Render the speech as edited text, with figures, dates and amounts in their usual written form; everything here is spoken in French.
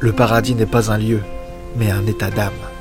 Le paradis n'est pas un lieu, mais un état d'âme.